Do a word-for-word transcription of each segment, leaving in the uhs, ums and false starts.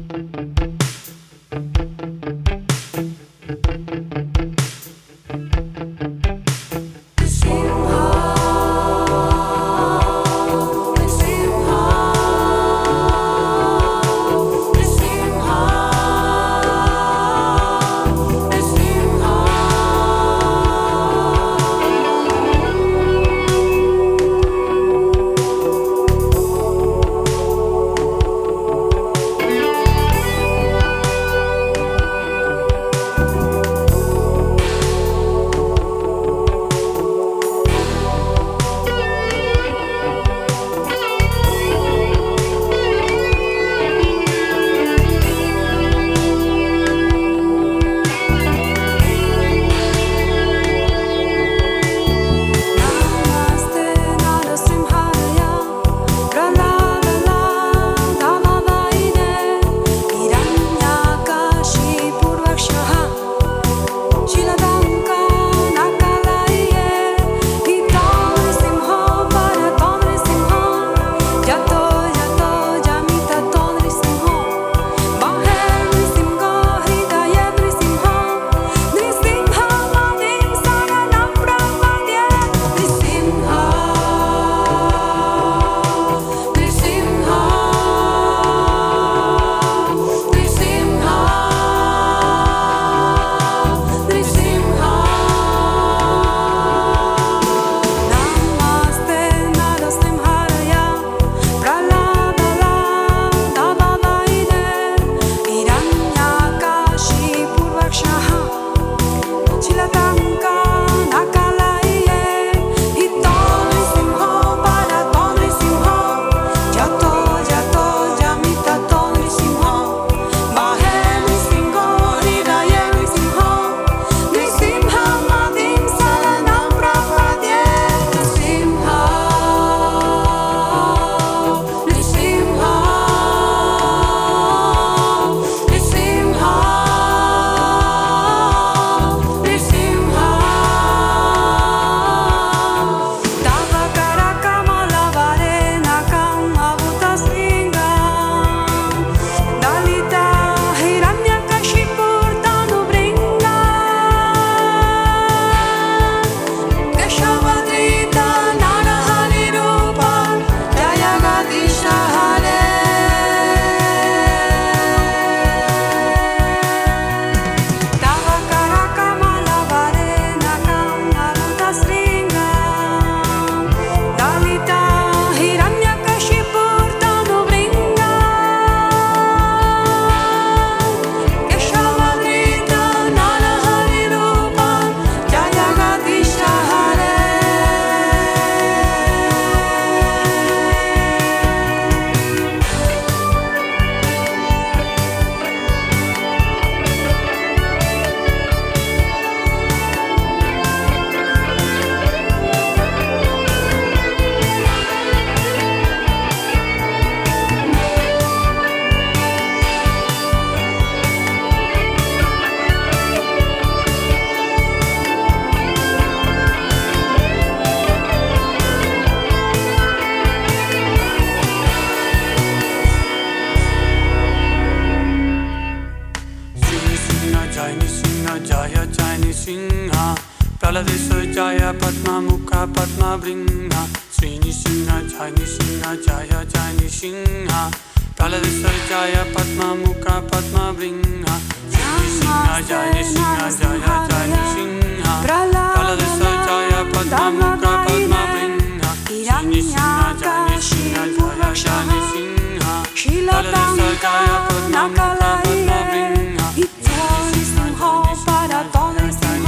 Praladesa Jaya Padma Mukha Padma Vringa Srini Singha Jai Singha Jaya Jai Singha Praladesa Jaya Padma Mukha Padma Vringa Srini Singha Jai Singha Jaya Jai Singha Praladesa Jaya Padma Mukha Padma Vringa Srini Singha Jai Singha Jaya Jai Singha Praladesa Jaya Padma Mukha Padma Vringa Srini Singha Jai Singha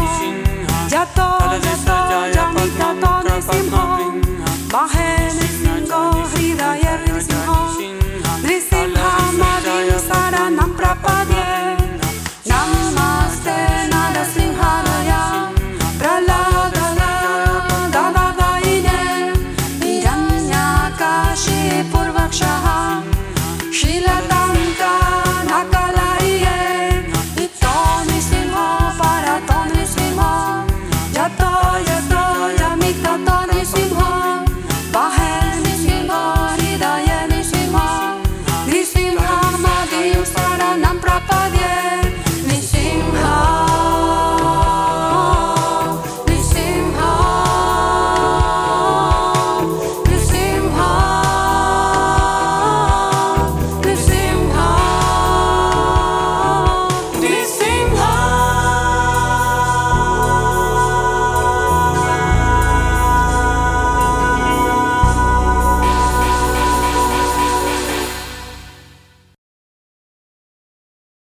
Praladesa Jaya Padma Mukha Padma Vringa Srini Singha Jai Singha Jaya Jai Singha Praladesa